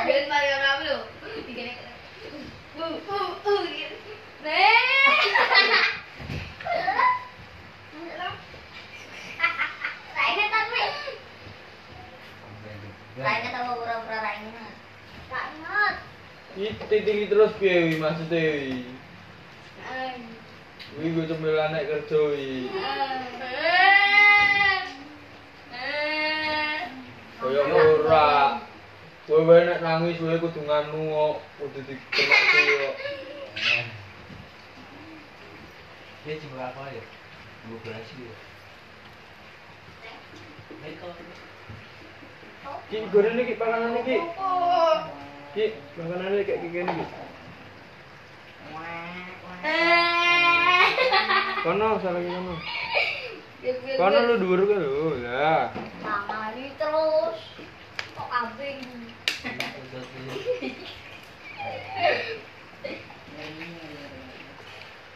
Ben paling rame lho. Dikene. Gitu. Raingan tapi. Raingan tahu pura-pura raingan. Tak ingat. Tinggi terus piye maksudnya wi? Wi gue cemilan naik kerja wi. Kaya ora. Kowe nek nangis kowe kudu nganu kok, kudu dikenak kok. Dia cuma apa ya? 12 ya. Ki goreng iki panganan iki. Ki makanan iki kayak gini iki. Kono salah iki kono. Kono lu dhuwur kowe lho. Lah. Mangani terus. Kok kambing.